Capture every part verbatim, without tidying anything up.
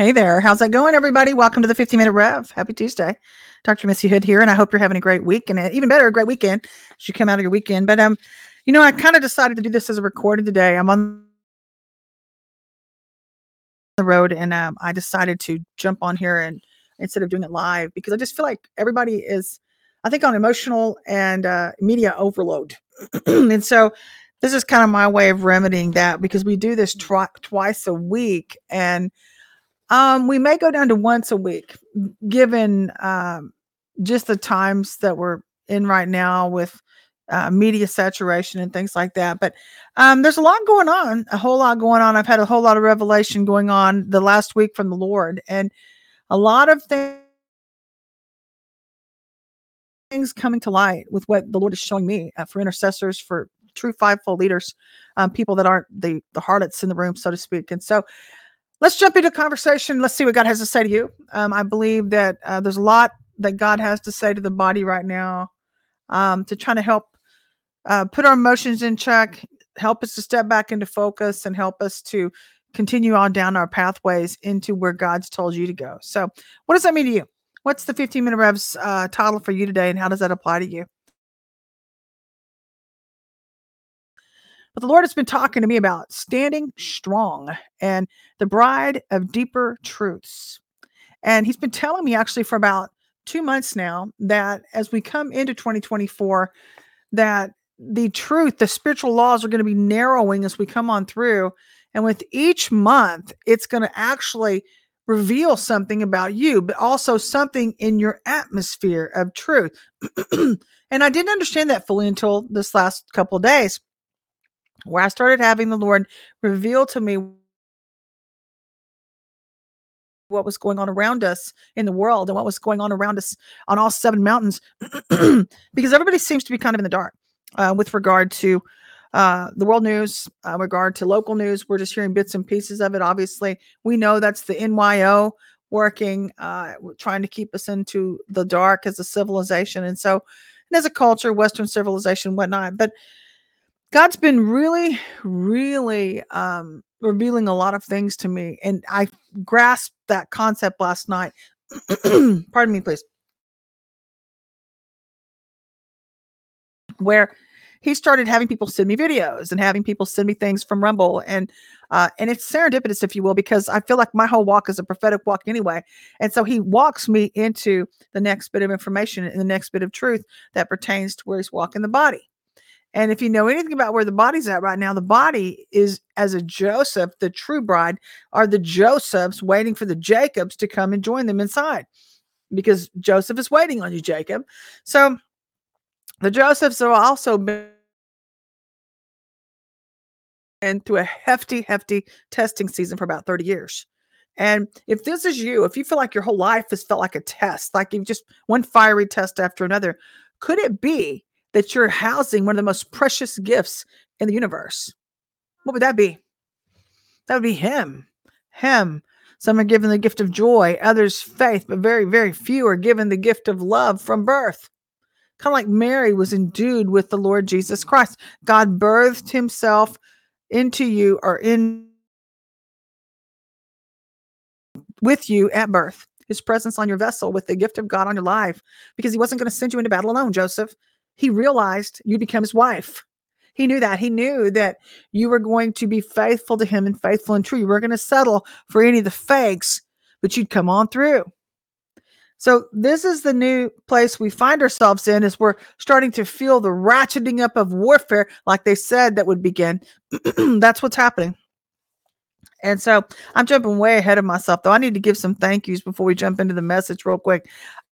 Hey there. How's that going, everybody? Welcome to the fifteen minute Rev. Happy Tuesday. Doctor Missy Hood here, and I hope you're having a great week and a, even better, a great weekend as you come out of your weekend. But, um, you know, I kind of decided to do this as a recording today. I'm on the road, and um, I decided to jump on here and instead of doing it live because I just feel like everybody is, I think, on emotional and uh, media overload. And so this is kind of my way of remedying that because we do this twi- twice a week, and um, we may go down to once a week, given um, just the times that we're in right now with uh, media saturation and things like that. But um, there's a lot going on, a whole lot going on. I've had a whole lot of revelation going on the last week from the Lord, and a lot of things things coming to light with what the Lord is showing me uh, for intercessors, for true fivefold leaders, um, people that aren't the the harlots in the room, so to speak. And so let's jump into conversation. Let's see what God has to say to you. Um, I believe that uh, there's a lot that God has to say to the body right now, um, to try to help uh, put our emotions in check, help us to step back into focus, and help us to continue on down our pathways into where God's told you to go. So, what does that mean to you? What's the fifteen minute Revs uh, title for you today, and how does that apply to you? But the Lord has been talking to me about standing strong and the bride of deeper truths. And he's been telling me actually for about two months now that as we come into twenty twenty-four, that the truth, the spiritual laws are going to be narrowing as we come on through. And with each month, it's going to actually reveal something about you, but also something in your atmosphere of truth. And I didn't understand that fully until this last couple of days, where I started having the Lord reveal to me what was going on around us in the world and what was going on around us on all seven mountains, because everybody seems to be kind of in the dark uh, with regard to uh, the world news, uh, regard to local news. We're just hearing bits and pieces of it. Obviously, we know that's the N Y O working, uh, trying to keep us into the dark as a civilization. And so, and as a culture, Western civilization, whatnot. But God's been really, really um, revealing a lot of things to me. And I grasped that concept last night. Pardon me, please. Where he started having people send me videos and having people send me things from Rumble. And uh, and it's serendipitous, if you will, because I feel like my whole walk is a prophetic walk anyway. And so he walks me into the next bit of information and the next bit of truth that pertains to where he's walking the body. And if you know anything about where the body's at right now, the body is as a Joseph, the true bride, are the Josephs waiting for the Jacobs to come and join them inside because Joseph is waiting on you, Jacob. So the Josephs have also been through a hefty, hefty testing season for about thirty years. And if this is you, if you feel like your whole life has felt like a test, like you've just one fiery test after another, could it be that you're housing one of the most precious gifts in the universe? What would that be? That would be him. Him. Some are given the gift of joy, others faith, but very, very few are given the gift of love from birth. Kind of like Mary was endued with the Lord Jesus Christ. God birthed himself into you or in with you at birth. His presence on your vessel with the gift of God on your life, because he wasn't going to send you into battle alone, Joseph. He realized you'd become his wife. He knew that. He knew that you were going to be faithful to him and faithful and true. You weren't going to settle for any of the fakes, but you'd come on through. So this is the new place we find ourselves in, as we're starting to feel the ratcheting up of warfare, like they said that would begin. That's what's happening. And so I'm jumping way ahead of myself, though. I need to give some thank yous before we jump into the message real quick.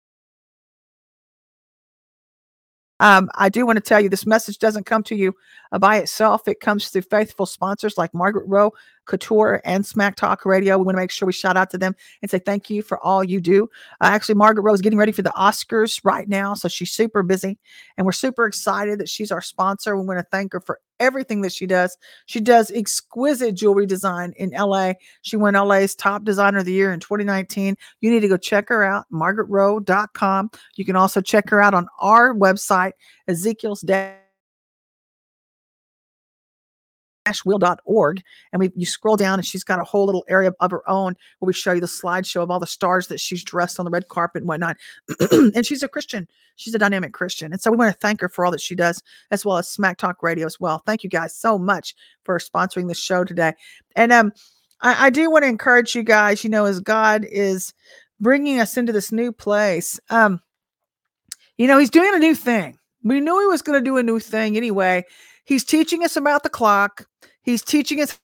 Um, I do want to tell you this message doesn't come to you uh, by itself. It comes through faithful sponsors like Margaret Rowe, Couture, and Smack Talk Radio. We want to make sure we shout out to them and say thank you for all you do. Uh, actually, Margaret Rowe is getting ready for the Oscars right now, so she's super busy, and we're super excited that she's our sponsor. We want to thank her for everything that she does. She does exquisite jewelry design in L A. She won L A's Top Designer of the Year in twenty nineteen. You need to go check her out, margaret rowe dot com. You can also check her out on our website, Ezekiel's Dad. wheel dot org, and we you scroll down and she's got a whole little area of her own where we show you the slideshow of all the stars that she's dressed on the red carpet and whatnot. And she's a Christian. She's a dynamic Christian. And so we want to thank her for all that she does, as well as Smack Talk Radio as well. Thank you guys so much for sponsoring the show today. And um, I, I do want to encourage you guys, you know, as God is bringing us into this new place, um, you know, he's doing a new thing. We knew he was going to do a new thing anyway. He's teaching us about the clock. He's teaching us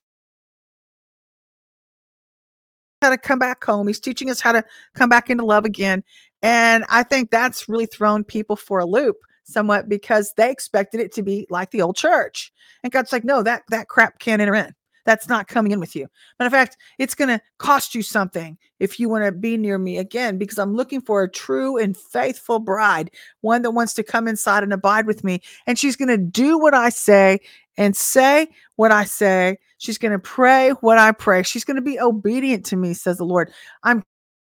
how to come back home. He's teaching us how to come back into love again. And I think that's really thrown people for a loop somewhat, because they expected it to be like the old church. And God's like, no, that, that crap can't enter in. That's not coming in with you. Matter of fact, it's going to cost you something if you want to be near me again, because I'm looking for a true and faithful bride, one that wants to come inside and abide with me. And she's going to do what I say and say what I say. She's going to pray what I pray. She's going to be obedient to me, says the Lord. I'm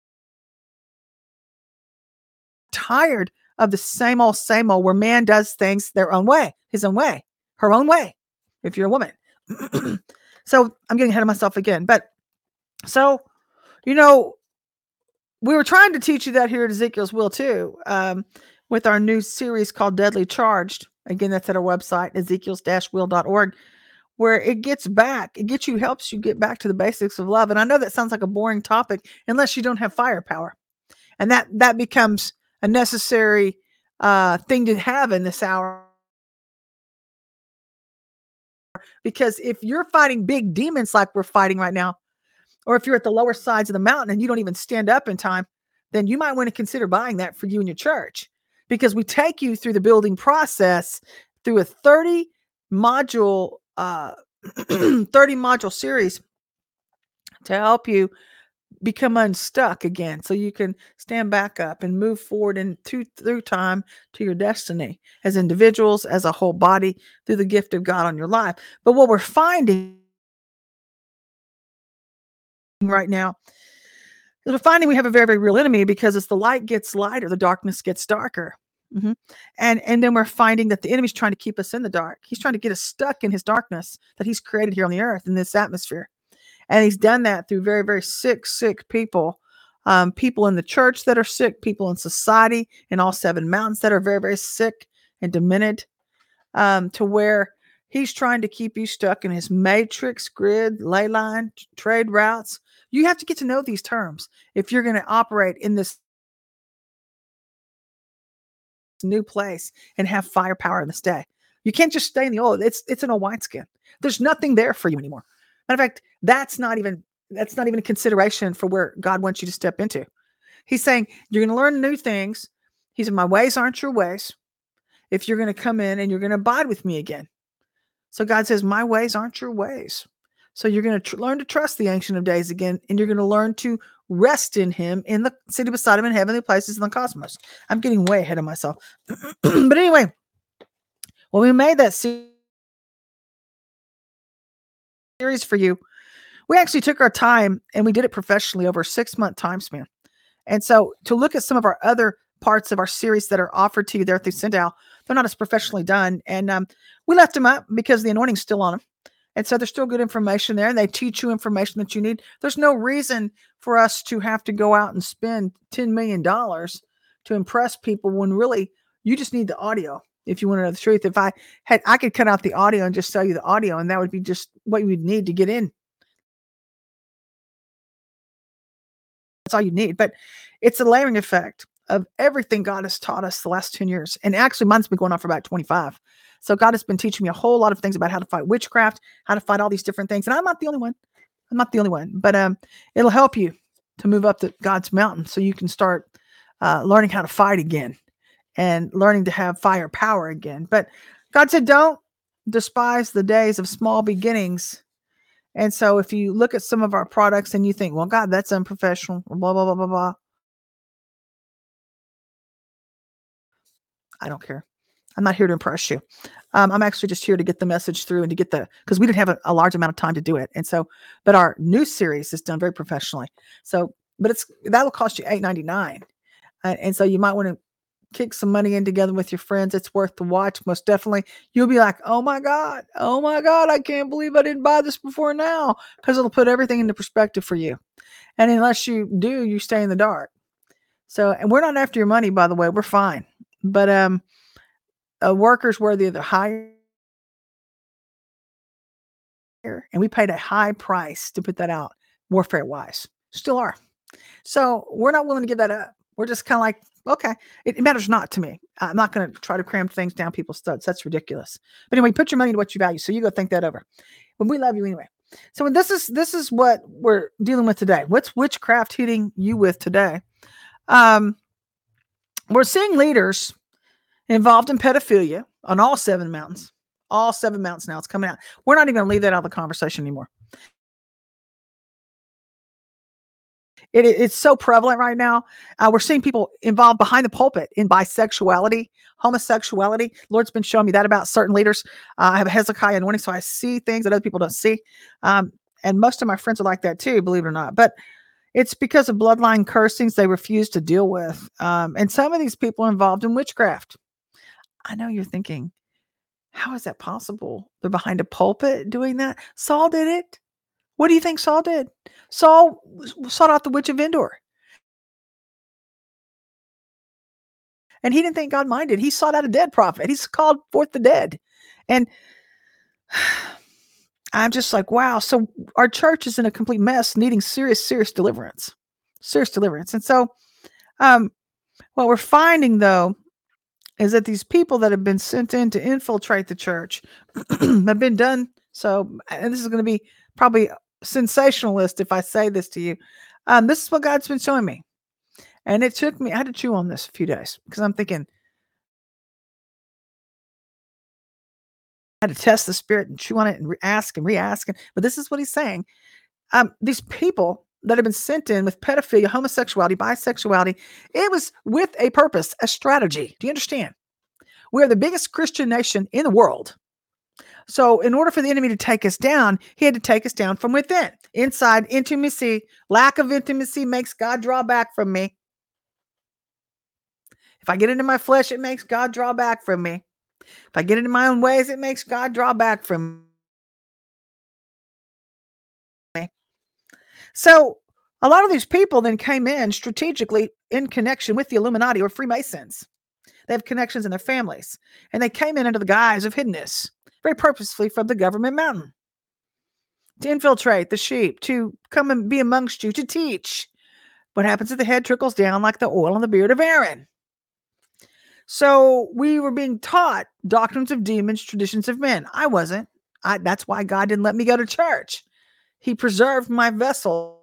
tired of the same old, same old, where man does things their own way, his own way, her own way, if you're a woman. So I'm getting ahead of myself again. But so, you know, we were trying to teach you that here at Ezekiel's Will too, um, with our new series called Deadly Charged. Again, that's at our website, ezekiels will dot org, where it gets back, it gets you, helps you get back to the basics of love. And I know that sounds like a boring topic unless you don't have firepower. And that, that becomes a necessary uh, thing to have in this hour. Because if you're fighting big demons like we're fighting right now, or if you're at the lower sides of the mountain and you don't even stand up in time, then you might want to consider buying that for you and your church, because we take you through the building process through a thirty module, uh, thirty module series to help you become unstuck again, so you can stand back up and move forward into through time to your destiny as individuals, as a whole body, through the gift of God on your life. But what we're finding right now is we're finding we have a very, very real enemy, because as the light gets lighter, the darkness gets darker. Mm-hmm. And and then we're finding that the enemy's trying to keep us in the dark. He's trying to get us stuck in his darkness that he's created here on the earth, in this atmosphere. And he's done that through very, very sick, sick people, um, people in the church that are sick, people in society, in all seven mountains that are very, very sick and demented, um, to where he's trying to keep you stuck in his matrix, grid, ley line, trade routes. You have to get to know these terms if you're going to operate in this new place and have firepower in this day. You can't just stay in the old. It's it's in a wineskin. There's nothing there for you anymore. Matter of fact, that's not even that's not even a consideration for where God wants you to step into. He's saying you're going to learn new things. He said, my ways aren't your ways. If you're going to come in and you're going to abide with me again. So God says, my ways aren't your ways. So you're going to tr- learn to trust the Ancient of Days again, and you're going to learn to rest in him in the city beside him in heavenly places in the cosmos. I'm getting way ahead of myself. But anyway, when we made that series for you, we actually took our time and we did it professionally over a six month time span. And so to look at some of our other parts of our series that are offered to you there through Sindal, they're not as professionally done. And um, we left them up because the anointing's still on them. And so there's still good information there, and they teach you information that you need. There's no reason for us to have to go out and spend ten million dollars to impress people when really you just need the audio. If you want to know the truth, if I had, I could cut out the audio and just sell you the audio, and that would be just what you would need to get in. That's all you need. But it's a layering effect of everything God has taught us the last ten years. And actually, mine's been going on for about twenty-five. So God has been teaching me a whole lot of things about how to fight witchcraft, how to fight all these different things. And I'm not the only one. I'm not the only one. But um, it'll help you to move up to God's mountain so you can start uh, learning how to fight again and learning to have firepower again. But God said, don't despise the days of small beginnings. And so if you look at some of our products and you think, well, God, that's unprofessional, or blah, blah, blah, blah, blah. I don't care. I'm not here to impress you. Um, I'm actually just here to get the message through and to get the, because we didn't have a, a large amount of time to do it. And so, but our new series is done very professionally. So, but it's, that'll cost you eight ninety-nine. Uh, and so you might want to kick some money in together with your friends. It's worth the watch, most definitely. You'll be like, oh my God, oh my God, I can't believe I didn't buy this before now, because it'll put everything into perspective for you. And unless you do, you stay in the dark. So, and we're not after your money, by the way. We're fine. But um, a worker's worthy of the hire, and we paid a high price to put that out warfare wise. Still are. So we're not willing to give that up. We're just kind of like, okay, it, it matters not to me. I'm not going to try to cram things down people's studs. That's ridiculous. But anyway, put your money to what you value. So you go think that over. But we love you anyway. So this is this is what we're dealing with today. What's witchcraft hitting you with today? Um, we're seeing leaders involved in pedophilia on all seven mountains. All seven mountains now. It's coming out. We're not even going to leave that out of the conversation anymore. It, it's so prevalent right now. Uh, we're seeing people involved behind the pulpit in bisexuality, homosexuality. Lord's been showing me that about certain leaders. Uh, I have a Hezekiah anointing, so I see things that other people don't see. Um, and most of my friends are like that too, believe it or not. But it's because of bloodline cursings they refuse to deal with. Um, and some of these people are involved in witchcraft. I know you're thinking, how is that possible? They're behind a pulpit doing that? Saul did it. What do you think Saul did? Saul sought out the witch of Endor. And he didn't think God minded. He sought out a dead prophet. He's called forth the dead. And I'm just like, wow. So our church is in a complete mess, needing serious, serious deliverance. Serious deliverance. And so um, what we're finding, though, is that these people that have been sent in to infiltrate the church have been done. So, and this is going to be probably sensationalist if I say this to you. Um, this is what God's been showing me. And it took me, I had to chew on this a few days because I'm thinking, I had to test the spirit and chew on it and re- ask and re-ask. And, but this is what he's saying. Um, these people that have been sent in with pedophilia, homosexuality, bisexuality, it was with a purpose, a strategy. Do you understand? We are the biggest Christian nation in the world. So in order for the enemy to take us down, he had to take us down from within. Inside intimacy, lack of intimacy makes God draw back from me. If I get into my flesh, it makes God draw back from me. If I get into my own ways, it makes God draw back from me. So a lot of these people then came in strategically in connection with the Illuminati or Freemasons. They have connections in their families. And they came in under the guise of hiddenness, very purposefully from the government mountain, to infiltrate the sheep, to come and be amongst you, to teach. What happens at the head trickles down like the oil on the beard of Aaron. So we were being taught doctrines of demons, traditions of men. I wasn't. I, that's why God didn't let me go to church. He preserved my vessel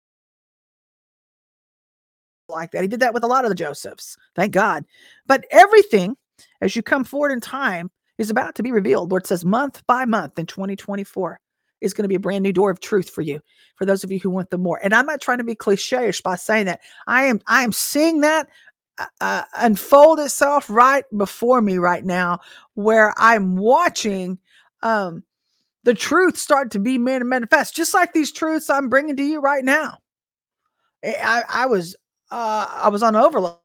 like that. He did that with a lot of the Josephs. Thank God. But everything, as you come forward in time, is about to be revealed. Lord says month by month in twenty twenty-four is going to be a brand new door of truth for you, for those of you who want the more. And I'm not trying to be cliche-ish by saying that. I am, I am seeing that uh, unfold itself right before me right now, where I'm watching um, the truth start to be manifest, just like these truths I'm bringing to you right now. I, I was, uh, I was on overload,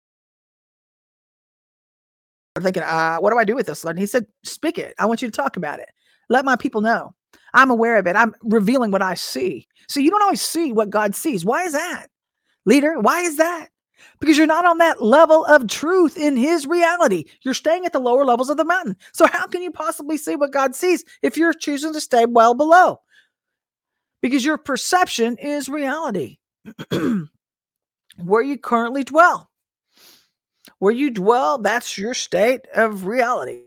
thinking, uh, what do I do with this? And he said, speak it. I want you to talk about it. Let my people know. I'm aware of it. I'm revealing what I see. So you don't always see what God sees. Why is that? Leader, why is that? Because you're not on that level of truth in his reality. You're staying at the lower levels of the mountain. So how can you possibly see what God sees if you're choosing to stay well below? Because your perception is reality. Where you currently dwell. Where you dwell, that's your state of reality.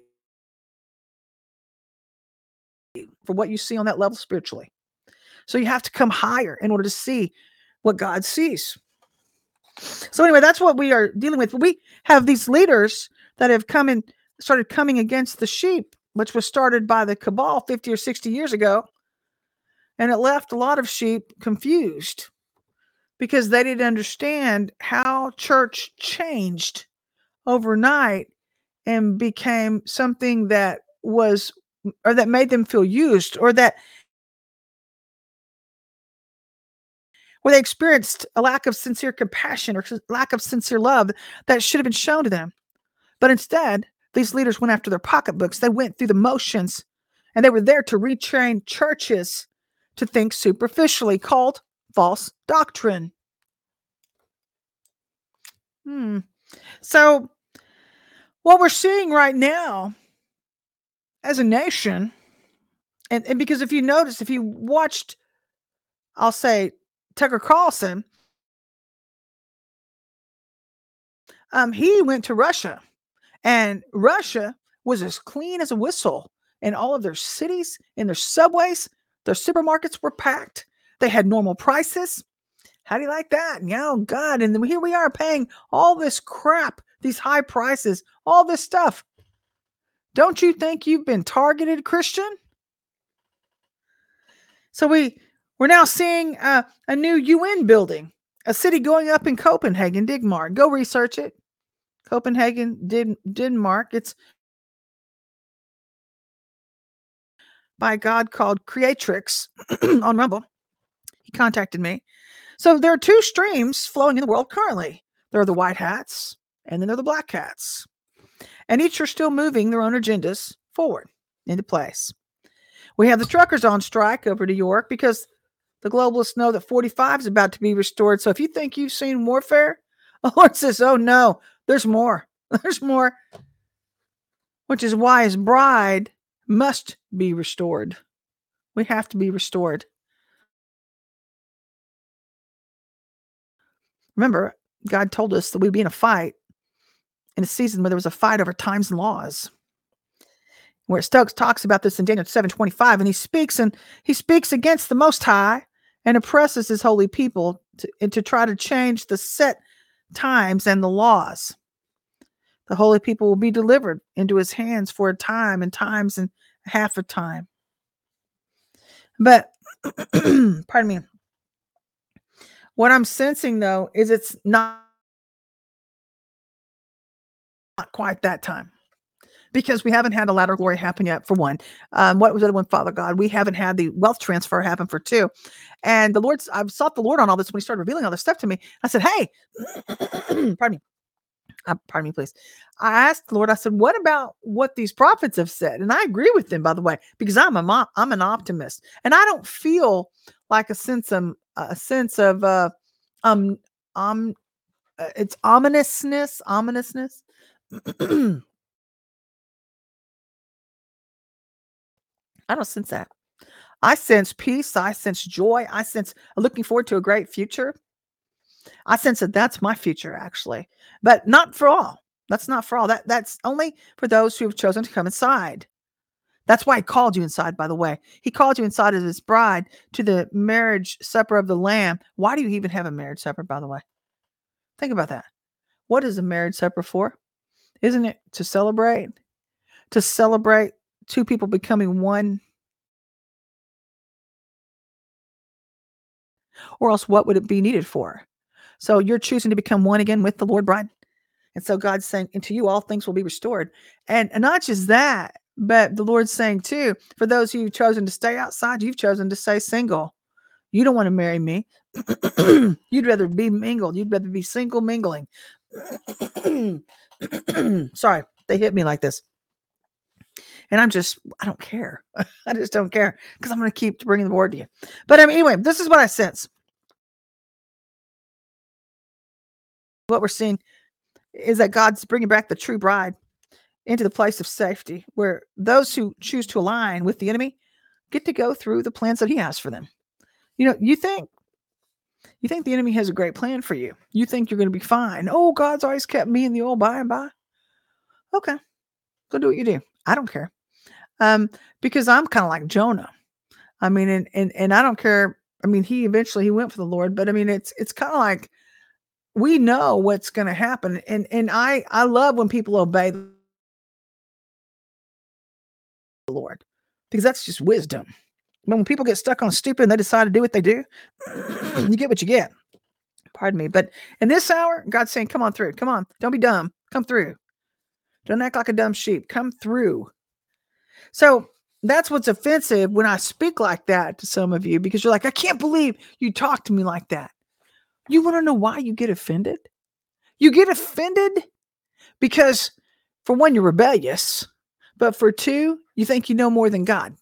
For what you see on that level spiritually. So you have to come higher in order to see what God sees. So anyway, that's what we are dealing with. We have these leaders that have come and started coming against the sheep, which was started by the cabal fifty or sixty years ago. And it left a lot of sheep confused because they didn't understand how church changed overnight and became something that was, or that made them feel used, or that where they experienced a lack of sincere compassion or lack of sincere love that should have been shown to them. But instead, these leaders went after their pocketbooks. They went through the motions, and they were there to retrain churches to think superficially, called false doctrine. Hmm. So, what we're seeing right now as a nation, and, and because if you notice, if you watched, I'll say, Tucker Carlson, um, he went to Russia, and Russia was as clean as a whistle. In all of their cities, in their subways, their supermarkets were packed. They had normal prices. How do you like that? Yeah, oh God. And then here we are paying all this crap, these high prices, all this stuff. Don't you think you've been targeted, Christian? So we, we're now seeing uh, a new U N building, a city going up in Copenhagen, Denmark. Go research it. Copenhagen, Denmark. It's by God called Creatrix on Rumble. He contacted me. So there are two streams flowing in the world currently. There are the white hats, and then there are the black hats. And each are still moving their own agendas forward into place. We have the truckers on strike over New York because the globalists know that forty-five is about to be restored. So if you think you've seen warfare, the Lord says, oh no, there's more. There's more. Which is why his bride must be restored. We have to be restored. Remember, God told us that we'd be in a fight, in a season where there was a fight over times and laws. Where Stokes talks about this in Daniel seven twenty-five, and he speaks and he speaks against the Most High and oppresses his holy people to, and to try to change the set times and the laws. The holy people will be delivered into his hands for a time and times and half a time. But, pardon me, what I'm sensing, though, is it's not, not quite that time. Because we haven't had a latter glory happen yet, for one. Um, what was the other one, Father God? We haven't had the wealth transfer happen, for two. And the Lord's, I've sought the Lord on all this when he started revealing all this stuff to me. I said, hey, pardon me. Uh, pardon me, please. I asked the Lord, I said, what about what these prophets have said? And I agree with them, by the way, because I'm a mom, I'm an optimist. And I don't feel like a sense of, a sense of, uh, um, um, uh, it's ominousness, ominousness. I don't sense that. I sense peace. I sense joy. I sense looking forward to a great future. I sense that that's my future, actually, but not for all. That's not for all. That that's only for those who have chosen to come inside. That's why he called you inside, by the way. He called you inside as his bride to the marriage supper of the Lamb. Why do you even have a marriage supper, by the way? Think about that. What is a marriage supper for? Isn't it to celebrate? To celebrate two people becoming one? Or else what would it be needed for? So you're choosing to become one again with the Lord bride. And so God's saying, and to you, all things will be restored. And, and not just that, but the Lord's saying too, for those who've chosen to stay outside, you've chosen to stay single. You don't want to marry me. You'd rather be mingled. You'd rather be single mingling. Sorry, they hit me like this. And I'm just, I don't care. I just don't care because I'm going to keep bringing the word to you. But um, anyway, this is what I sense. What we're seeing is that God's bringing back the true bride into the place of safety, where those who choose to align with the enemy get to go through the plans that he has for them. You know, you think, you think the enemy has a great plan for you. You think you're going to be fine. Oh, God's always kept me in the old by and by. Okay, go do what you do. I don't care. Um, because I'm kind of like Jonah. I mean, and, and, and I don't care. I mean, he eventually, he went for the Lord, but I mean, it's, it's kind of like, we know what's going to happen. And, and I, I love when people obey the Lord, because that's just wisdom. When people get stuck on stupid and they decide to do what they do, you get what you get. Pardon me. But in this hour, God's saying, come on through. Come on. Don't be dumb. Come through. Don't act like a dumb sheep. Come through. So that's what's offensive when I speak like that to some of you, because you're like, I can't believe you talk to me like that. You want to know why you get offended? You get offended because, for one, you're rebellious, but for two, you think you know more than God.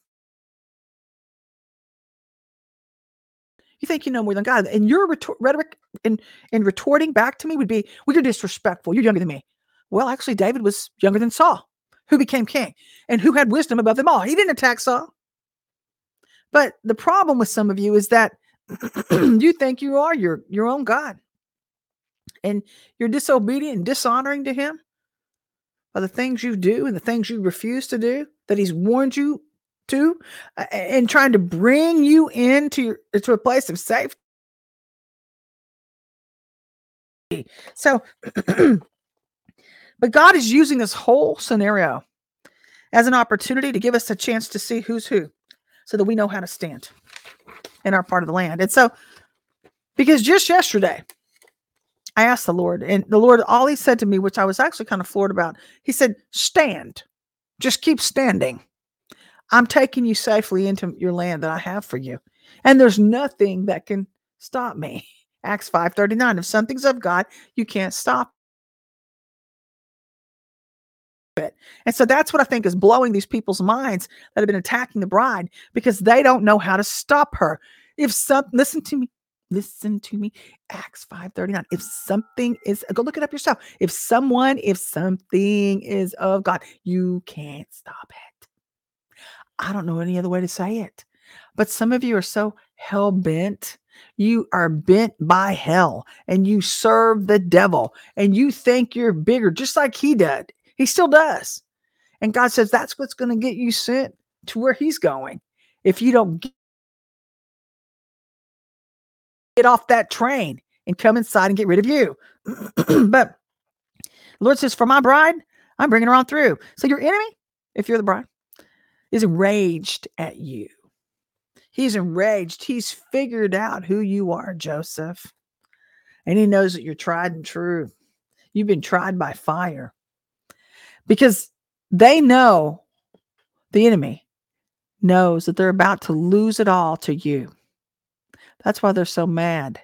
You think you know more than God. And your retor- rhetoric and, and retorting back to me would be, well, you're disrespectful. You're younger than me. Well, actually, David was younger than Saul, who became king and who had wisdom above them all. He didn't attack Saul. But the problem with some of you is that you think you are your, your own God. And you're disobedient and dishonoring to him by the things you do and the things you refuse to do that he's warned you to, uh, and trying to bring you into your, to a place of safety. So, but God is using this whole scenario as an opportunity to give us a chance to see who's who so that we know how to stand in our part of the land. And so, because just yesterday, I asked the Lord, and the Lord, all he said to me, which I was actually kind of floored about, he said, stand, just keep standing. I'm taking you safely into your land that I have for you. And there's nothing that can stop me. Acts five thirty-nine, if something's of God, you can't stop it. And so that's what I think is blowing these people's minds that have been attacking the bride, because they don't know how to stop her. If some, listen to me, listen to me, Acts five thirty-nine, if something is, go look it up yourself. If someone, if something is of God, you can't stop it. I don't know any other way to say it. But some of you are so hell-bent. You are bent by hell and you serve the devil and you think you're bigger, just like he did. He still does. And God says that's what's going to get you sent to where he's going. If you don't get off that train and come inside and get rid of you. But the Lord says, for my bride, I'm bringing her on through. So your enemy, if you're the bride, is enraged at you. He's enraged. He's figured out who you are, Joseph. And he knows that you're tried and true. You've been tried by fire. Because they know, the enemy knows that they're about to lose it all to you. That's why they're so mad.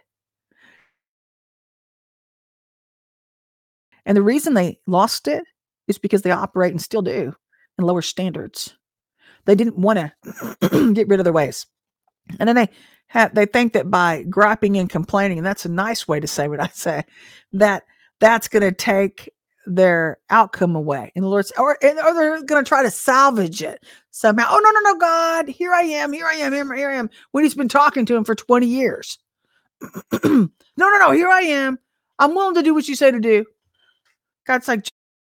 And the reason they lost it is because they operate and still do in lower standards. They didn't want to get rid of their ways. And then they have, they think that by griping and complaining, and that's a nice way to say what I say, that that's going to take their outcome away. And the Lord's, or, or they're going to try to salvage it somehow. Oh, no, no, no, God, here I am, here I am, here I am, when he's been talking to him for twenty years. no, no, no, here I am. I'm willing to do what you say to do. God's like,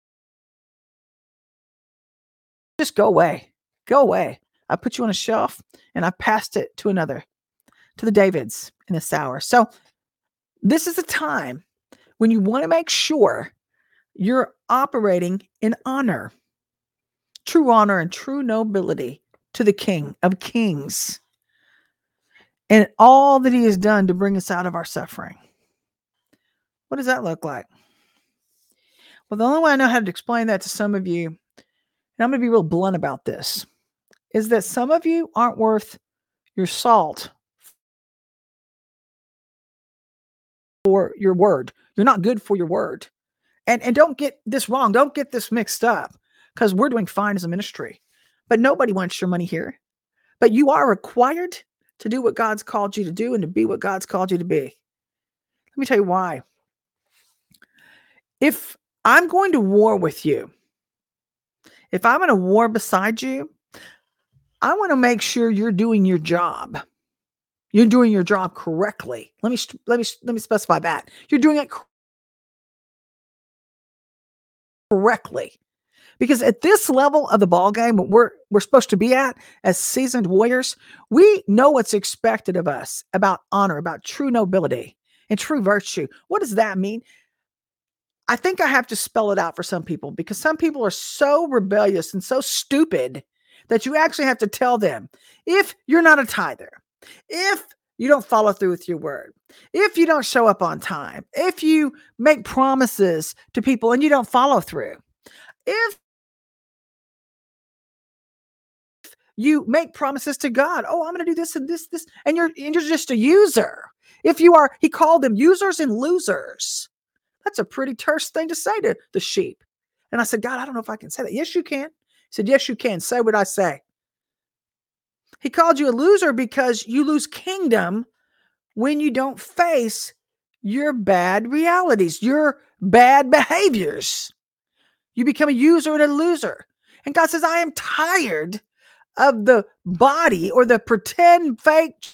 just go away. Go away. I put you on a shelf and I passed it to another, to the Davids in this hour. So this is a time when you want to make sure you're operating in honor, true honor and true nobility to the King of Kings and all that he has done to bring us out of our suffering. What does that look like? Well, the only way I know how to explain that to some of you, and I'm going to be real blunt about this, is that some of you aren't worth your salt for your word. You're not good for your word. And, and don't get this wrong. Don't get this mixed up, because we're doing fine as a ministry. But nobody wants your money here. But you are required to do what God's called you to do and to be what God's called you to be. Let me tell you why. If I'm going to war with you, if I'm in a war beside you, I want to make sure you're doing your job. You're doing your job correctly. Let me let me let me specify that. You're doing it correctly. Because at this level of the ball game, we're we're supposed to be at as seasoned warriors, we know what's expected of us about honor, about true nobility and true virtue. What does that mean? I think I have to spell it out for some people, because some people are so rebellious and so stupid that you actually have to tell them, if you're not a tither, if you don't follow through with your word, if you don't show up on time, if you make promises to people and you don't follow through, if You make promises to God. Oh, I'm going to do this and this, this, and you're and you're just a user. If you are, he called them users and losers. That's a pretty terse thing to say to the sheep. And I said, God, I don't know if I can say that. Yes, you can. He said, yes, you can. Say what I say. He called you a loser because you lose kingdom when you don't face your bad realities, your bad behaviors. You become a user and a loser. And God says, I am tired of the body or the pretend fake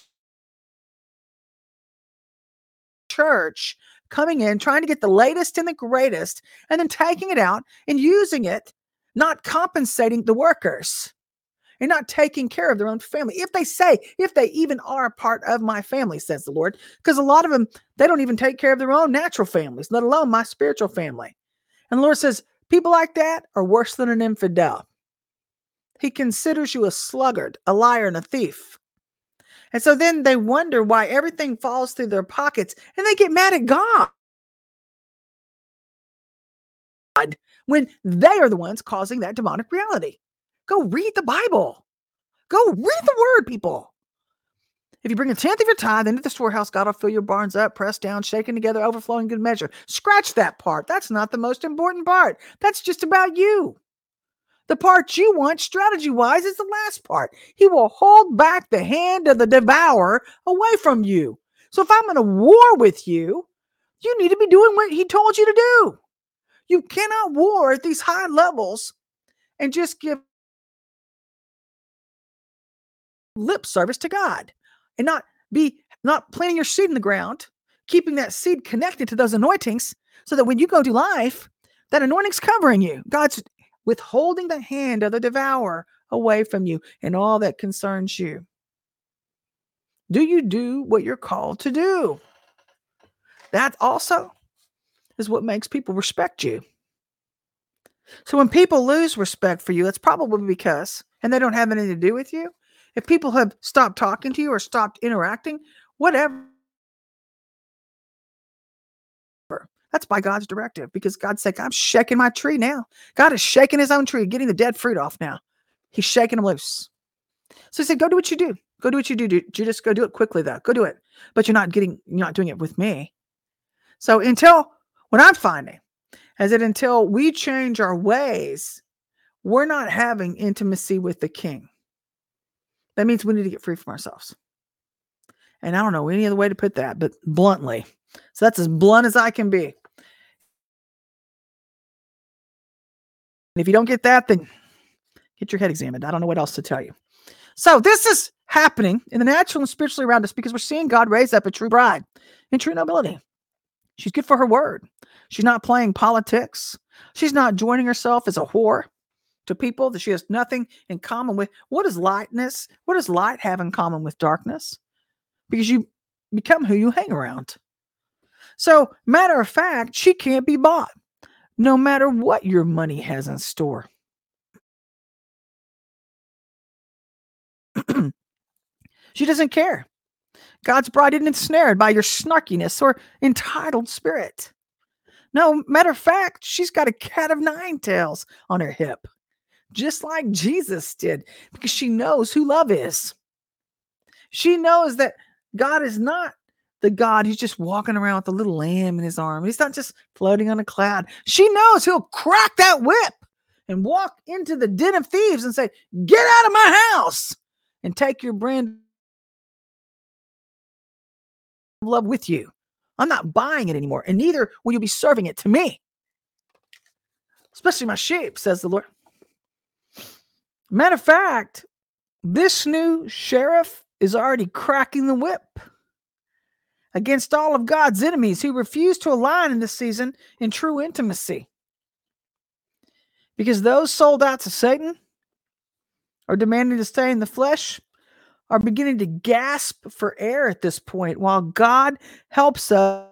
church coming in, trying to get the latest and the greatest, and then taking it out and using it, not compensating the workers and not taking care of their own family. If they say, if they even are a part of my family, says the Lord, because a lot of them, they don't even take care of their own natural families, let alone my spiritual family. And the Lord says, people like that are worse than an infidel. He considers you a sluggard, a liar, and a thief. And so then they wonder why everything falls through their pockets, and they get mad at God when they are the ones causing that demonic reality. Go read the Bible. Go read the word, people. If you bring a tenth of your tithe into the storehouse, God will fill your barns up, pressed down, shaken together, overflowing good measure. Scratch that part. That's not the most important part. That's just about you. The part you want, strategy-wise, is the last part. He will hold back the hand of the devourer away from you. So if I'm in a war with you, you need to be doing what he told you to do. You cannot war at these high levels and just give lip service to God and not be not planting your seed in the ground, keeping that seed connected to those anointings so that when you go to life, that anointing's covering you. God's withholding the hand of the devourer away from you and all that concerns you. Do you do what you're called to do? That also is what makes people respect you. So when people lose respect for you, it's probably because, and they don't have anything to do with you. If people have stopped talking to you or stopped interacting, whatever, that's by God's directive, because God's saying, I'm shaking my tree now. God is shaking his own tree, getting the dead fruit off now. He's shaking them loose. So he said, go do what you do. Go do what you do. do. You just go do it quickly, though. Go do it. But you're not getting, you're not doing it with me. So until, what I'm finding is that until we change our ways, we're not having intimacy with the King. That means we need to get free from ourselves. And I don't know any other way to put that, but bluntly. So that's as blunt as I can be. And if you don't get that, then get your head examined. I don't know what else to tell you. So this is happening in the natural and spiritually around us because we're seeing God raise up a true bride in true nobility. She's good for her word. She's not playing politics. She's not joining herself as a whore to people that she has nothing in common with. What is lightness? What does light have in common with darkness? Because you become who you hang around. So, matter of fact, she can't be bought, no matter what your money has in store. She doesn't care. God's bride isn't ensnared by your snarkiness or entitled spirit. No, matter of fact, she's got a cat of nine tails on her hip, just like Jesus did, because she knows who love is. She knows that God is not the God who's just walking around with a little lamb in his arm. He's not just floating on a cloud. She knows he'll crack that whip and walk into the den of thieves and say, get out of my house and take your brand of love with you. I'm not buying it anymore, and neither will you be serving it to me, especially my sheep, says the Lord. Matter of fact, this new sheriff is already cracking the whip against all of God's enemies who refuse to align in this season in true intimacy. Because those sold out to Satan or demanding to stay in the flesh are beginning to gasp for air at this point, while God helps us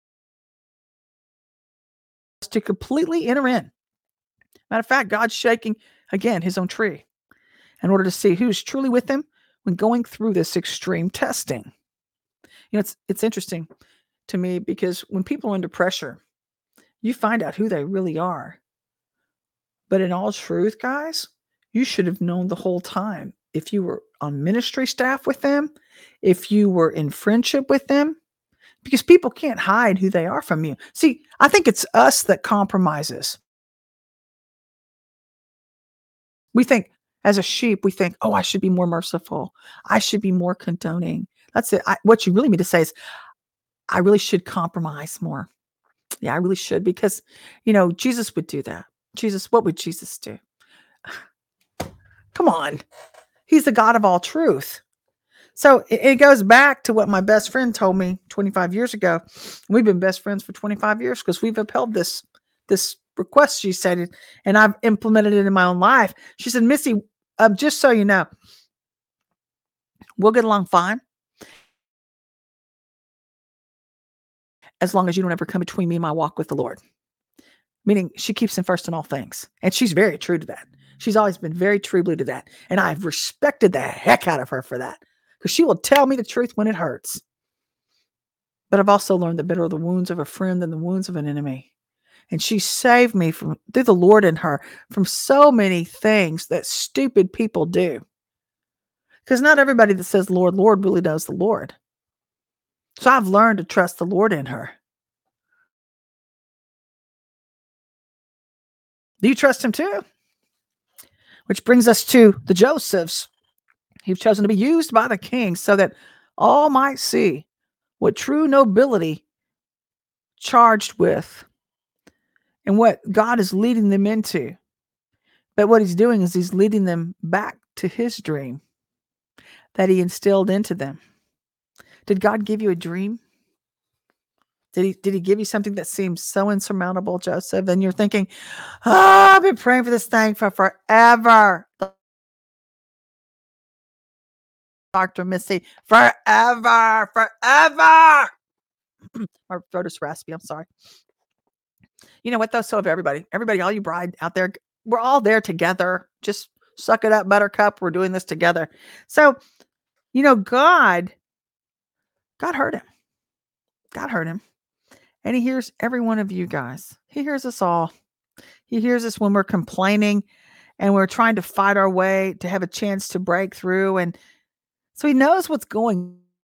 to completely enter in. Matter of fact, God's shaking, again, his own tree in order to see who's truly with him when going through this extreme testing. You know, it's it's interesting to me because when people are under pressure, you find out who they really are. But in all truth, guys, you should have known the whole time if you were on ministry staff with them, if you were in friendship with them, because people can't hide who they are from you. See, I think it's us that compromises. We think as a sheep, we think, oh, I should be more merciful. I should be more condoning. That's it. I, what you really mean to say is, I really should compromise more. Yeah, I really should because, you know, Jesus would do that. Jesus, what would Jesus do? Come on. He's the God of all truth. So it, it goes back to what my best friend told me twenty-five years ago. We've been best friends for twenty-five years because we've upheld this, this request, she said, and I've implemented it in my own life. She said, Missy, um, just so you know, we'll get along fine as long as you don't ever come between me and my walk with the Lord. Meaning she keeps him first in all things. And she's very true to that. She's always been very true blue to that. And I've respected the heck out of her for that. Because she will tell me the truth when it hurts. But I've also learned that better are the wounds of a friend than the wounds of an enemy. And she saved me from, through the Lord in her, from so many things that stupid people do. Because not everybody that says Lord, Lord really knows the Lord. So I've learned to trust the Lord in her. Do you trust him too? Which brings us to the Josephs. He's chosen to be used by the king so that all might see what true nobility charged with and what God is leading them into. But what he's doing is he's leading them back to his dream that he instilled into them. Did God give you a dream? Did he, did he give you something that seems so insurmountable, Joseph? And you're thinking, oh, I've been praying for this thing for forever. Doctor Missy, forever, forever. My throat is raspy. I'm sorry. You know what, though? So of everybody, everybody, all you bride out there, we're all there together. Just suck it up, buttercup. We're doing this together. So, you know, God, God heard him. God heard him. And he hears every one of you guys. He hears us all. He hears us when we're complaining and we're trying to fight our way to have a chance to break through. And so he knows what's going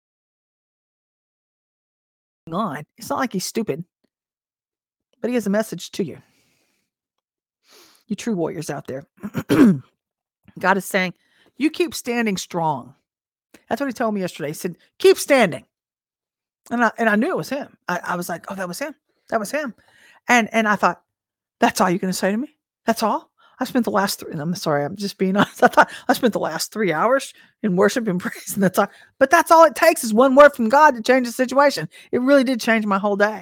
on. It's not like he's stupid, but he has a message to you. You true warriors out there. God is saying, you keep standing strong. That's what he told me yesterday. He said, keep standing. And I, and I knew it was him. I, I was like, oh, that was him. That was him. And, and I thought, that's all you're going to say to me? That's all? I spent the last three, and I'm sorry, I'm just being honest. I thought I spent the last three hours in worship and praise. And that's all, but that's all it takes is one word from God to change the situation. It really did change my whole day.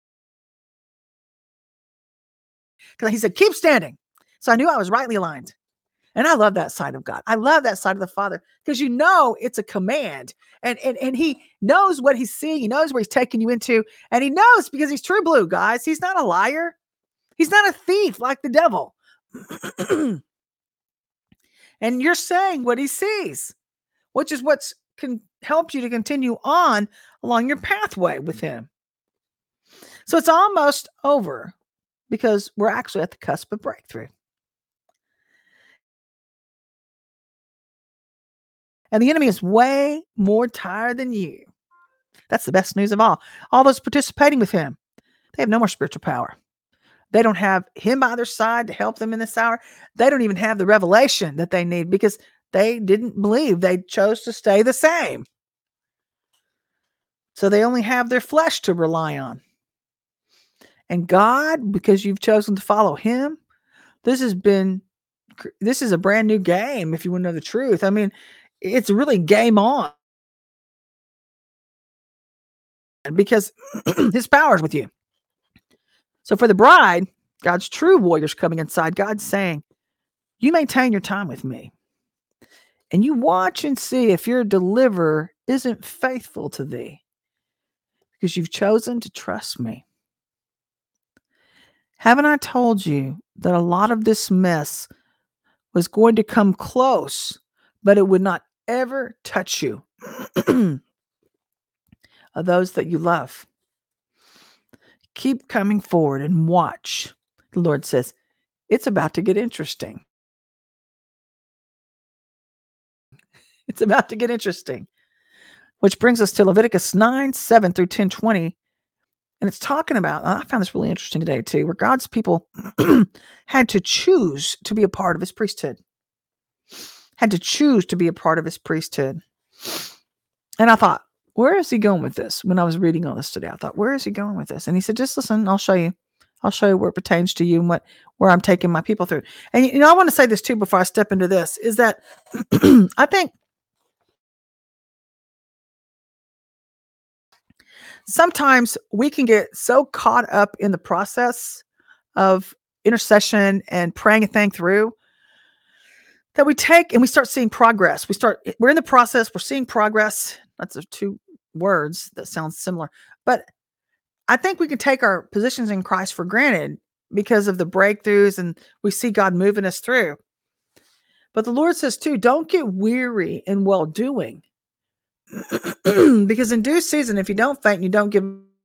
Because he said, keep standing. So I knew I was rightly aligned. And I love that side of God. I love that side of the Father because you know it's a command. And, and, and he knows what he's seeing. He knows where he's taking you into. And he knows because he's true blue, guys. He's not a liar. He's not a thief like the devil. And you're saying what he sees, which is what's can help you to continue on along your pathway with him. So it's almost over because we're actually at the cusp of breakthrough. And the enemy is way more tired than you. That's the best news of all. All those participating with him, they have no more spiritual power. They don't have him by their side to help them in this hour. They don't even have the revelation that they need because they didn't believe. They chose to stay the same. So they only have their flesh to rely on. And God, because you've chosen to follow him, this has been, this is a brand new game, if you want to know the truth. I mean, it's really game on. Because his power is with you. So for the bride, God's true warriors coming inside, God's saying, you maintain your time with me. And you watch and see if your deliverer isn't faithful to thee. Because you've chosen to trust me. Haven't I told you that a lot of this mess was going to come close, but it would not ever touch you? Of those that you love. Keep coming forward and watch. The Lord says, it's about to get interesting. It's about to get interesting. Which brings us to Leviticus nine, seven through ten, twenty. And it's talking about, I found this really interesting today too, where God's people had to choose to be a part of his priesthood. Had to choose to be a part of his priesthood. And I thought, where is he going with this? When I was reading all this today, I thought, where is he going with this? And he said, just listen, I'll show you. I'll show you where it pertains to you and what where I'm taking my people through. And you know, I want to say this too before I step into this, is that I think sometimes we can get so caught up in the process of intercession and praying a thing through that we take and we start seeing progress. We start, we're in the process, we're seeing progress. That's the two words that sound similar. But I think we can take our positions in Christ for granted because of the breakthroughs and we see God moving us through. But the Lord says too, don't get weary in well doing. Because in due season, if you don't faint and you don't give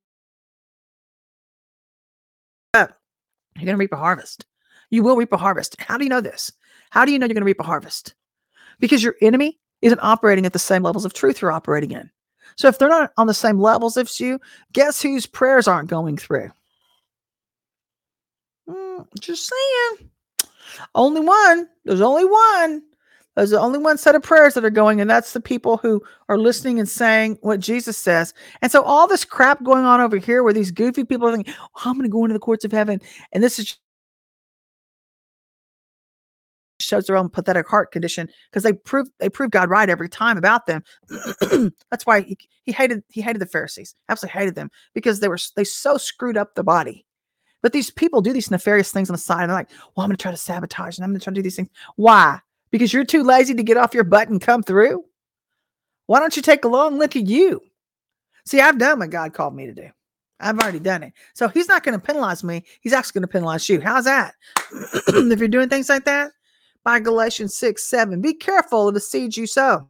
up, you're going to reap a harvest. You will reap a harvest. How do you know this? How do you know you're going to reap a harvest? Because your enemy isn't operating at the same levels of truth you're operating in. So if they're not on the same levels as you, guess whose prayers aren't going through? Mm, just saying. Only one. There's only one. There's only one set of prayers that are going, and that's the people who are listening and saying what Jesus says. And so all this crap going on over here where these goofy people are thinking, oh, I'm going to go into the courts of heaven. And this is shows their own pathetic heart condition because they prove they prove God right every time about them. That's why he, he hated he hated the Pharisees. Absolutely hated them because they were they so screwed up the body. But these people do these nefarious things on the side. And they're like, well, I'm going to try to sabotage and I'm going to try to do these things. Why? Because you're too lazy to get off your butt and come through? Why don't you take a long look at you? See, I've done what God called me to do. I've already done it. So he's not going to penalize me. He's actually going to penalize you. How's that? If you're doing things like that, by Galatians six, seven, be careful of the seeds you sow.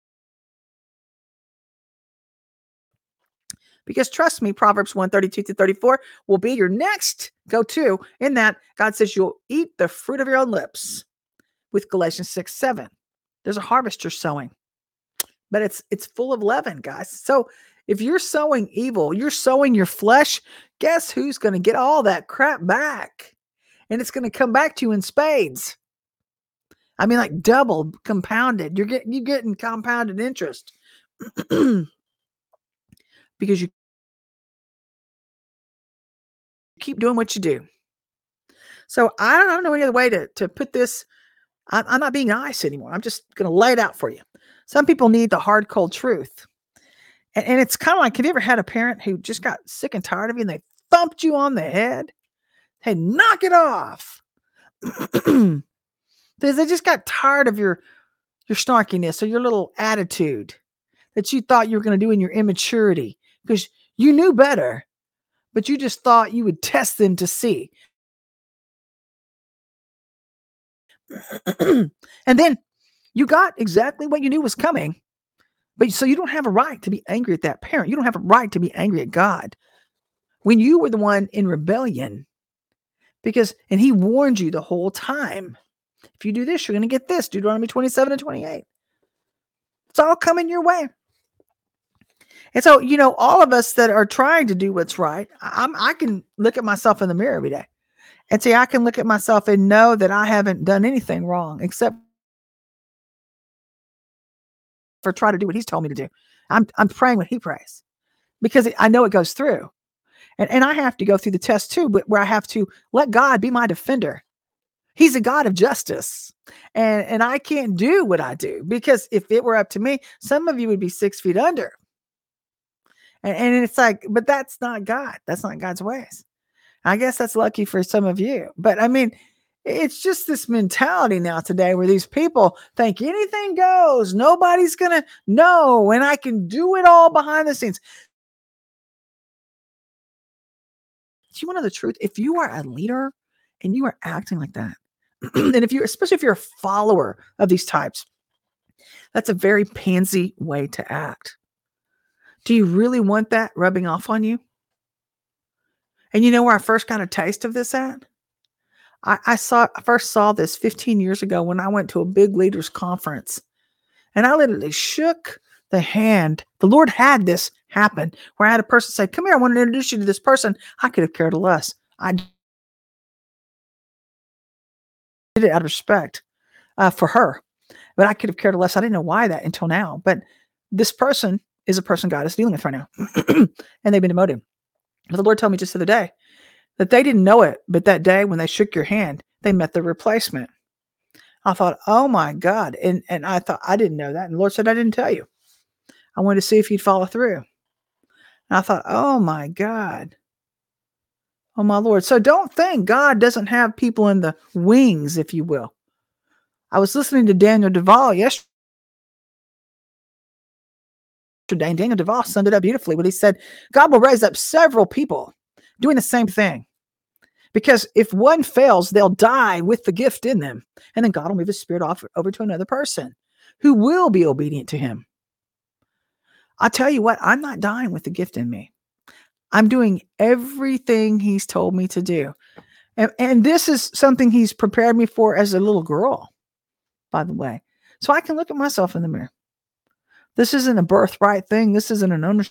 Because trust me, Proverbs one, thirty-two to thirty-four will be your next go-to in that God says you'll eat the fruit of your own lips. With Galatians six, seven, there's a harvest you're sowing, but it's it's full of leaven, guys. So if you're sowing evil, you're sowing your flesh, guess who's going to get all that crap back? And it's going to come back to you in spades. I mean, like double compounded. You're getting, you're getting compounded interest because you keep doing what you do. So I don't know any other way to, to put this. I'm, I'm not being nice anymore. I'm just going to lay it out for you. Some people need the hard, cold truth. And, and it's kind of like, have you ever had a parent who just got sick and tired of you and they thumped you on the head? Hey, knock it off. Because they just got tired of your, your snarkiness or your little attitude that you thought you were going to do in your immaturity because you knew better, but you just thought you would test them to see. And then you got exactly what you knew was coming. But so you don't have a right to be angry at that parent. You don't have a right to be angry at God when you were the one in rebellion. Because, and he warned you the whole time. If you do this, you're going to get this. Deuteronomy twenty-seven and twenty-eight. It's all coming your way. And so, you know, all of us that are trying to do what's right, I'm, I can look at myself in the mirror every day and see, I can look at myself and know that I haven't done anything wrong except for try to do what he's told me to do. I'm, I'm praying what he prays because I know it goes through. And, and I have to go through the test too, but where I have to let God be my defender. He's a God of justice. And, and I can't do what I do because if it were up to me, some of you would be six feet under. And, and it's like, but that's not God. That's not God's ways. I guess that's lucky for some of you. But I mean, it's just this mentality now today where these people think anything goes. Nobody's going to know. And I can do it all behind the scenes. Do you want to know the truth? If you are a leader and you are acting like that, and if you're, especially if you're a follower of these types, that's a very pansy way to act. Do you really want that rubbing off on you? And you know where I first got a taste of this at? I, I saw I first saw this fifteen years ago when I went to a big leaders conference. And I literally shook the hand. The Lord had this happen where I had a person say, come here, I want to introduce you to this person. I could have cared less. I did it out of respect uh, for her, but I could have cared less. I didn't know why that until now. But this person is a person God is dealing with right now. And they've been demoted. But the Lord told me just the other day that they didn't know it, but that day when they shook your hand, they met the replacement. I thought, oh my God. And, and I thought, I didn't know that. And the Lord said, I didn't tell you. I wanted to see if you'd follow through. And I thought, oh my God. Oh my Lord. So don't think God doesn't have people in the wings, if you will. I was listening to Daniel Duvall yesterday. And Daniel Duvall summed it up beautifully when he said, God will raise up several people doing the same thing. Because if one fails, they'll die with the gift in them. And then God will move his spirit off over to another person who will be obedient to him. I'll tell you what, I'm not dying with the gift in me. I'm doing everything he's told me to do. And, and this is something he's prepared me for as a little girl, by the way. So I can look at myself in the mirror. This isn't a birthright thing. This isn't an ownership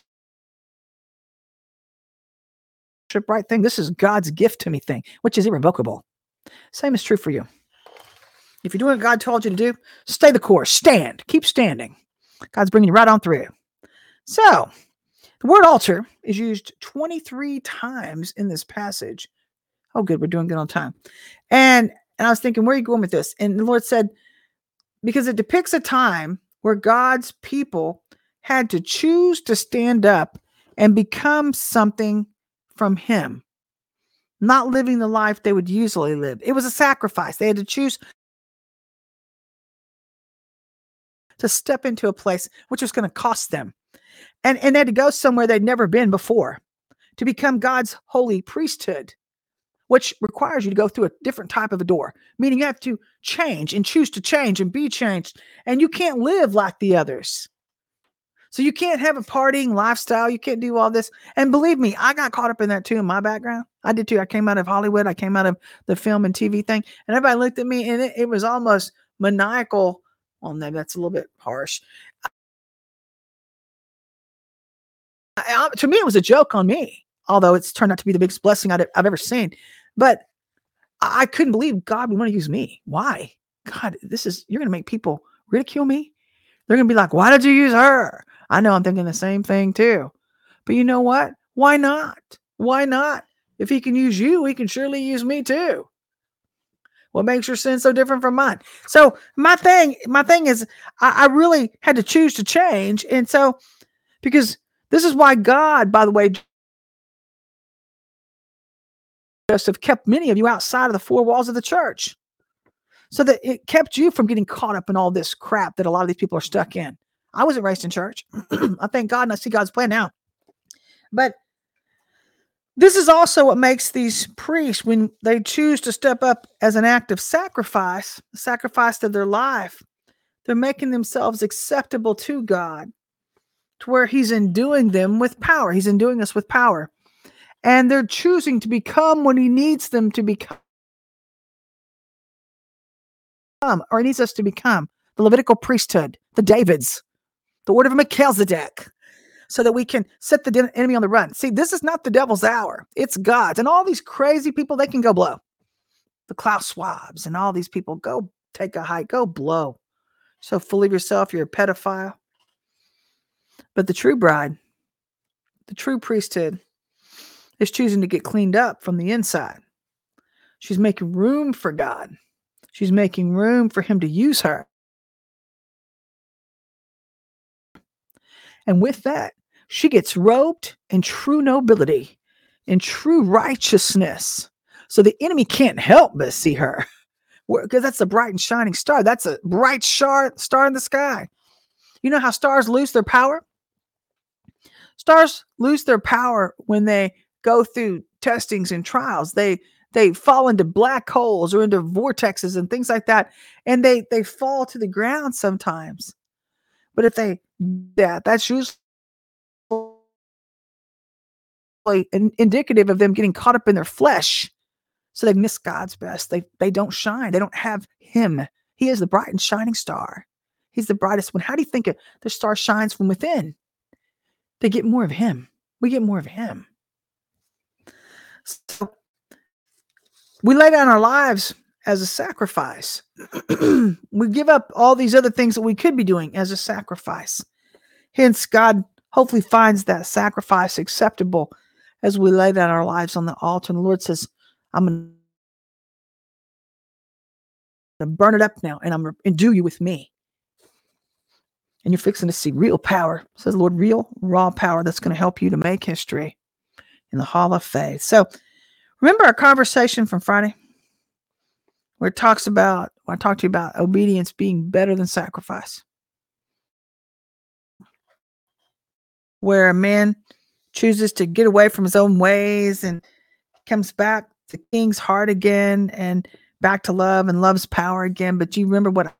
right thing. This is God's gift to me thing, which is irrevocable. Same is true for you. If you're doing what God told you to do, stay the course. Stand. Keep standing. God's bringing you right on through. So, the word altar is used twenty-three times in this passage. Oh, good. We're doing good on time. And, and I was thinking, where are you going with this? And the Lord said, because it depicts a time where God's people had to choose to stand up and become something from him, not living the life they would usually live. It was a sacrifice. They had to choose to step into a place which was going to cost them. And, and they had to go somewhere they'd never been before to become God's holy priesthood, which requires you to go through a different type of a door, meaning you have to change and choose to change and be changed. And you can't live like the others. So you can't have a partying lifestyle. You can't do all this. And believe me, I got caught up in that too in my background. I did too. I came out of Hollywood. I came out of the film and T V thing. And everybody looked at me and it, it was almost maniacal. Well, no, that's a little bit harsh. I, I, to me, it was a joke on me, although it's turned out to be the biggest blessing I've, I've ever seen. But I, I couldn't believe God would want to use me. Why? God, this is, you're going to make people ridicule me. They're going to be like, why did you use her? I know I'm thinking the same thing too. But you know what? Why not? Why not? If he can use you, he can surely use me too. What makes your sin so different from mine? So my thing, my thing is I, I really had to choose to change. And so, because this is why God, by the way, just have kept many of you outside of the four walls of the church, so that it kept you from getting caught up in all this crap that a lot of these people are stuck in. I wasn't raised in church. I thank God and I see God's plan now. But this is also what makes these priests, when they choose to step up as an act of sacrifice, sacrifice to their life, they're making themselves acceptable to God, to where he's enduing them with power. He's enduing us with power. And they're choosing to become what he needs them to become, or he needs us to become, the Levitical priesthood, the Davids, the order of Melchizedek, so that we can set the enemy on the run. See, this is not the devil's hour. It's God's. And all these crazy people, they can go blow. The Klaus Schwabs and all these people, go take a hike, go blow. So full of yourself, you're a pedophile. But the true bride, the true priesthood, is choosing to get cleaned up from the inside. She's making room for God. She's making room for him to use her. And with that, she gets robed in true nobility, in true righteousness. So the enemy can't help but see her, because that's a bright and shining star. That's a bright star, star in the sky. You know how stars lose their power? Stars lose their power when they go through testings and trials. They they fall into black holes or into vortexes and things like that, and they they fall to the ground sometimes. But if they that that's usually indicative of them getting caught up in their flesh, so they miss God's best. They they don't shine. They don't have him. He is the bright and shining star. He's the brightest one. How do you think the star shines from within? They get more of him. We get more of him. So we lay down our lives as a sacrifice. We give up all these other things that we could be doing as a sacrifice. Hence, God hopefully finds that sacrifice acceptable as we lay down our lives on the altar. And the Lord says, I'm going to burn it up now, and I'm going to endue you with me. And you're fixing to see real power, says the Lord, real, raw power that's going to help you to make history in the Hall of Faith. So remember our conversation from Friday where it talks about, I talked to you about obedience being better than sacrifice. Where a man chooses to get away from his own ways and comes back to King's heart again and back to love and love's power again. But you remember what I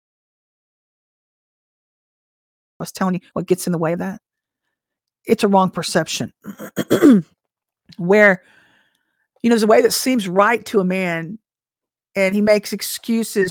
was telling you, what gets in the way of that? It's a wrong perception. Where, you know, there's a way that seems right to a man and he makes excuses.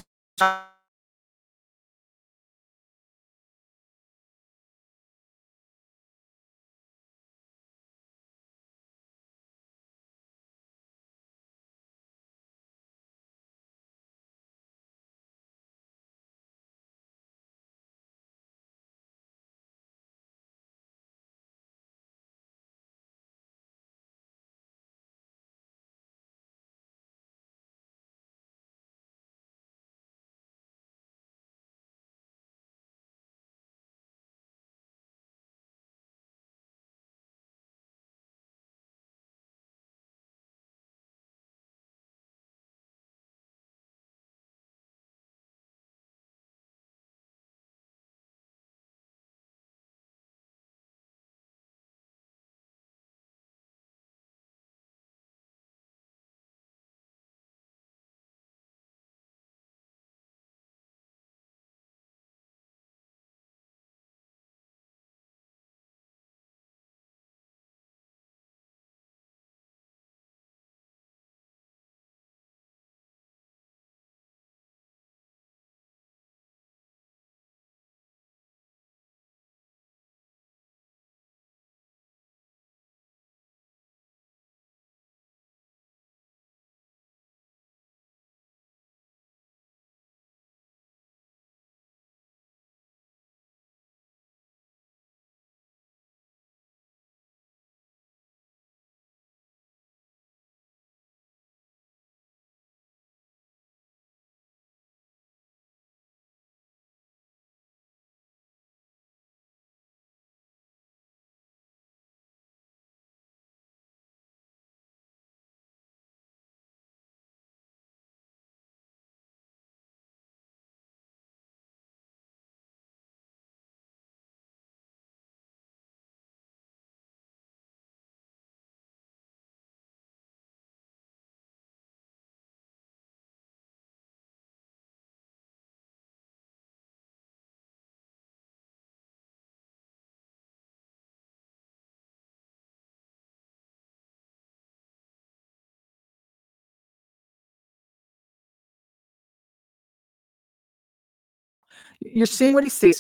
You're seeing what he sees.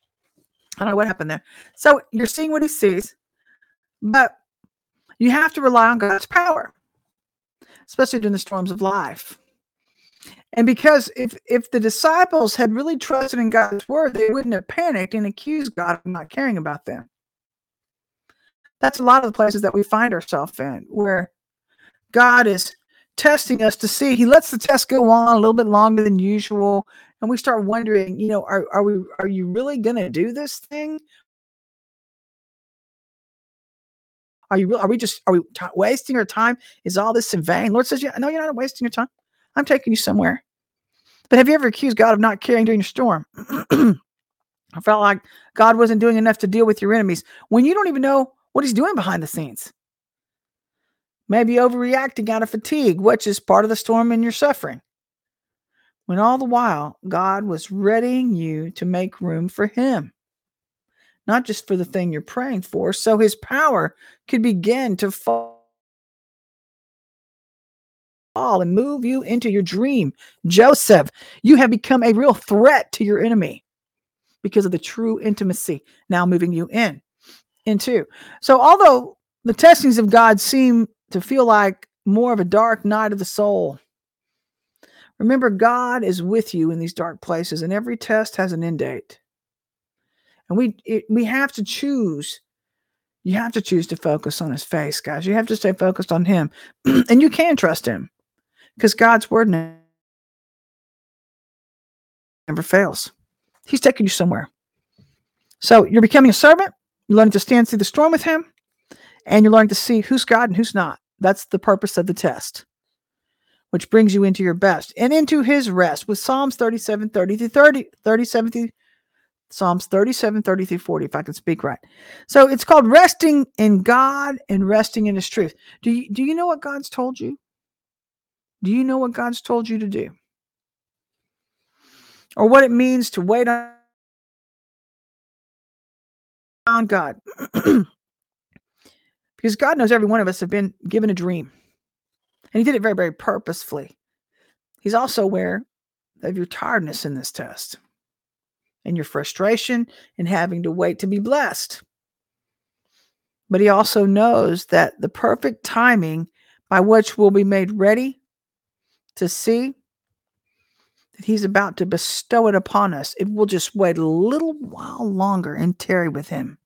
I don't know what happened there. So you're seeing what he sees, but you have to rely on God's power, especially during the storms of life. And because if if the disciples had really trusted in God's word, they wouldn't have panicked and accused God of not caring about them. That's a lot of the places that we find ourselves in, where God is testing us to see. He lets the test go on a little bit longer than usual, and we start wondering, you know, are are we are you really going to do this thing? Are you? Are we just? Are we t- wasting our time? Is all this in vain? Lord says, "Yeah, no, you're not wasting your time. I'm taking you somewhere." But have you ever accused God of not caring during your storm? I felt like God wasn't doing enough to deal with your enemies when you don't even know what He's doing behind the scenes. Maybe overreacting out of fatigue, which is part of the storm in your suffering. When all the while, God was readying you to make room for Him, not just for the thing you're praying for, so His power could begin to fall and move you into your dream. Joseph, you have become a real threat to your enemy. because of the true intimacy now moving you in, into. So although the testings of God seem to feel like more of a dark night of the soul, remember God is with you in these dark places, and every test has an end date. And we it, we have to choose. You have to choose to focus on his face, guys. You have to stay focused on him. And you can trust him because God's word never fails. He's taking you somewhere. So you're becoming a servant. You're learning to stand through the storm with him. And you're learning to see who's God and who's not. That's the purpose of the test, which brings you into your best and into his rest with Psalms thirty-seven, thirty through thirty, thirty-seven through Psalms thirty-seven, thirty through forty, if I can speak right. So it's called resting in God and resting in his truth. Do you, do you know what God's told you? Do you know what God's told you to do? Or what it means to wait on God? Because God knows every one of us have been given a dream. And he did it very, very purposefully. He's also aware of your tiredness in this test and your frustration in having to wait to be blessed. But he also knows that the perfect timing by which we'll be made ready to see that he's about to bestow it upon us, it will just wait a little while longer and tarry with him.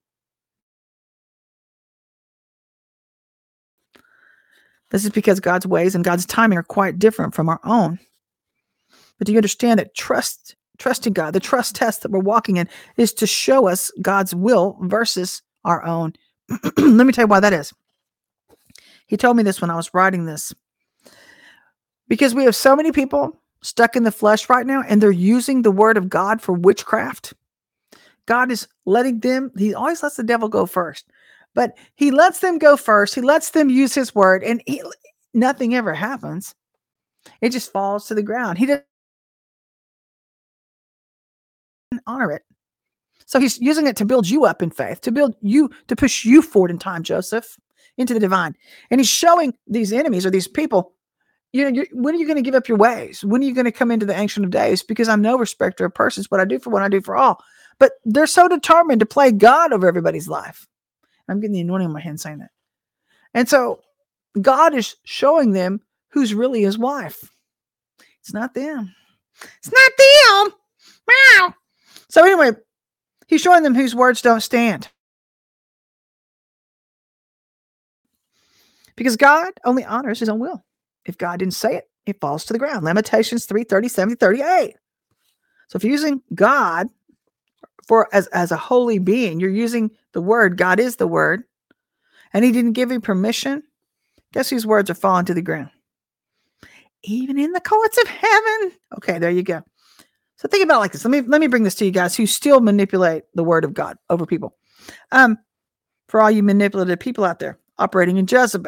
This is because God's ways and God's timing are quite different from our own. But do you understand that trust Trusting God, the trust test that we're walking in, is to show us God's will versus our own. Let me tell you why that is. He told me this when I was writing this. Because we have so many people stuck in the flesh right now, and they're using the word of God for witchcraft. God is letting them, he always lets the devil go first. But he lets them go first. He lets them use his word, and he, nothing ever happens. It just falls to the ground. He doesn't honor it. So he's using it to build you up in faith, to build you, to push you forward in time, Joseph, into the divine. And he's showing these enemies or these people, you know, you're, when are you going to give up your ways? When are you going to come into the Ancient of Days? Because I'm no respecter of persons. What I do for one, I do for all. But they're so determined to play God over everybody's life. I'm getting the anointing on my hand saying that. And so God is showing them who's really his wife. It's not them. It's not them. Wow. So anyway, he's showing them whose words don't stand. Because God only honors his own will. If God didn't say it, it falls to the ground. Lamentations three, thirty-seven, thirty-eight. So if you're using God for as, as a holy being, you're using the word, God is the word, and he didn't give you permission, guess whose words are falling to the ground? Even in the courts of heaven. Okay, there you go. So think about it like this. Let me let me bring this to you guys who still manipulate the word of God over people. Um, for all you manipulative people out there operating in Jezebel.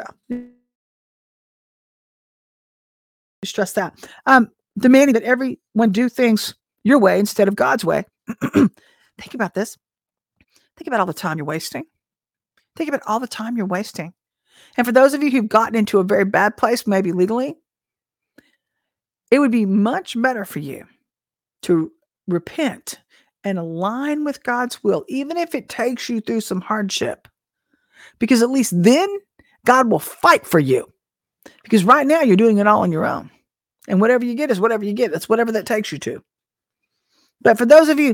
Stress that. Um, demanding that everyone do things your way instead of God's way. Think about this. Think about all the time you're wasting. Think about all the time you're wasting. And for those of you who've gotten into a very bad place, maybe legally, it would be much better for you to repent and align with God's will, even if it takes you through some hardship. Because at least then God will fight for you. Because right now you're doing it all on your own. And whatever you get is whatever you get. That's whatever that takes you to. But for those of you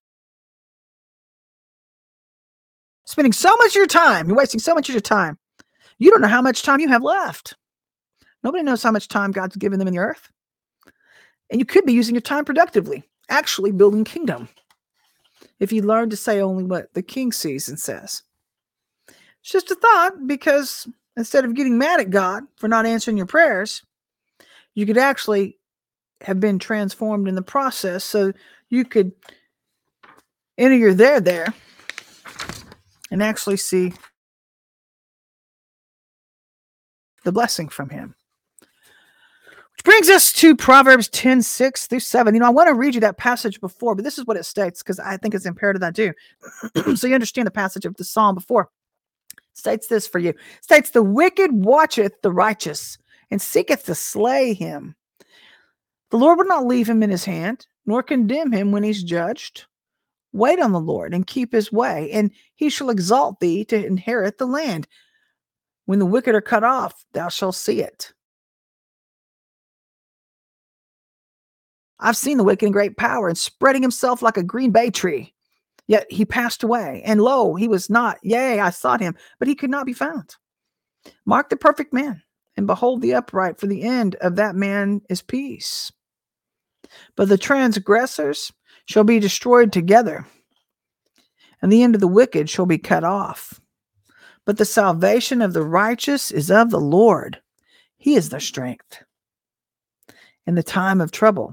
spending so much of your time, you're wasting so much of your time, you don't know how much time you have left. Nobody knows how much time God's given them in the earth. And you could be using your time productively, actually building kingdom. If you learn to say only what the king sees and says. It's just a thought, because instead of getting mad at God for not answering your prayers, you could actually have been transformed in the process, so you could enter your there there and actually see the blessing from him. Which brings us to Proverbs ten, six through seven. You know, I want to read you that passage before, but this is what it states, because I think it's imperative that I do. So you understand the passage of the psalm before. It states this for you. It states, the wicked watcheth the righteous, and seeketh to slay him. The Lord will not leave him in his hand, nor condemn him when he's judged. Wait on the Lord and keep his way, and he shall exalt thee to inherit the land. When the wicked are cut off, thou shalt see it. I've seen the wicked in great power and spreading himself like a green bay tree. Yet he passed away, and lo, he was not. Yea, I sought him, but he could not be found. Mark the perfect man, and behold the upright, for the end of that man is peace. But the transgressors shall be destroyed together, and the end of the wicked shall be cut off. But the salvation of the righteous is of the Lord. He is their strength in the time of trouble.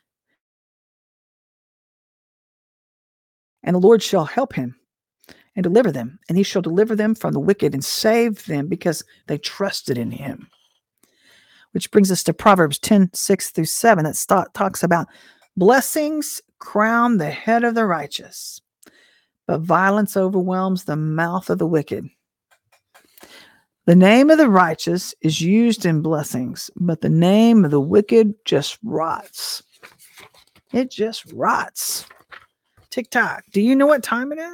And the Lord shall help him and deliver them, and he shall deliver them from the wicked and save them because they trusted in him. Which brings us to Proverbs ten, six through seven. That st- talks about blessings crown the head of the righteous, but violence overwhelms the mouth of the wicked. The name of the righteous is used in blessings, but the name of the wicked just rots. It just rots. TikTok, do you know what time it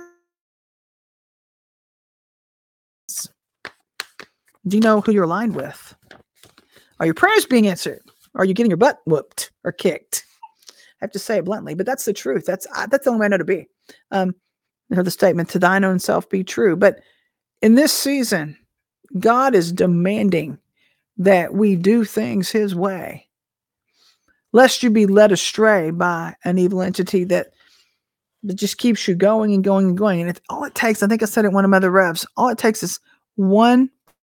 is? Do you know who you're aligned with? Are your prayers being answered? Are you getting your butt whooped or kicked? I have to say it bluntly, but that's the truth. That's uh, that's the only way I know to be. Um, I heard the statement, to thine own self be true. But in this season, God is demanding that we do things his way, lest you be led astray by an evil entity that that just keeps you going and going and going. And it's all it takes, I think I said it in one of my other revs, all it takes is one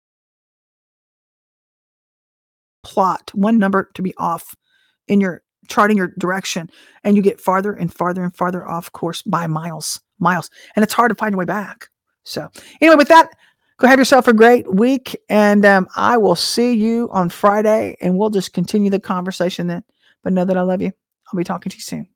plot, one number to be off in your charting your direction, and you get farther and farther and farther off course by miles, miles. And it's hard to find your way back. So anyway, with that, go have yourself a great week. And um, I will see you on Friday, and we'll just continue the conversation then. But know that I love you. I'll be talking to you soon.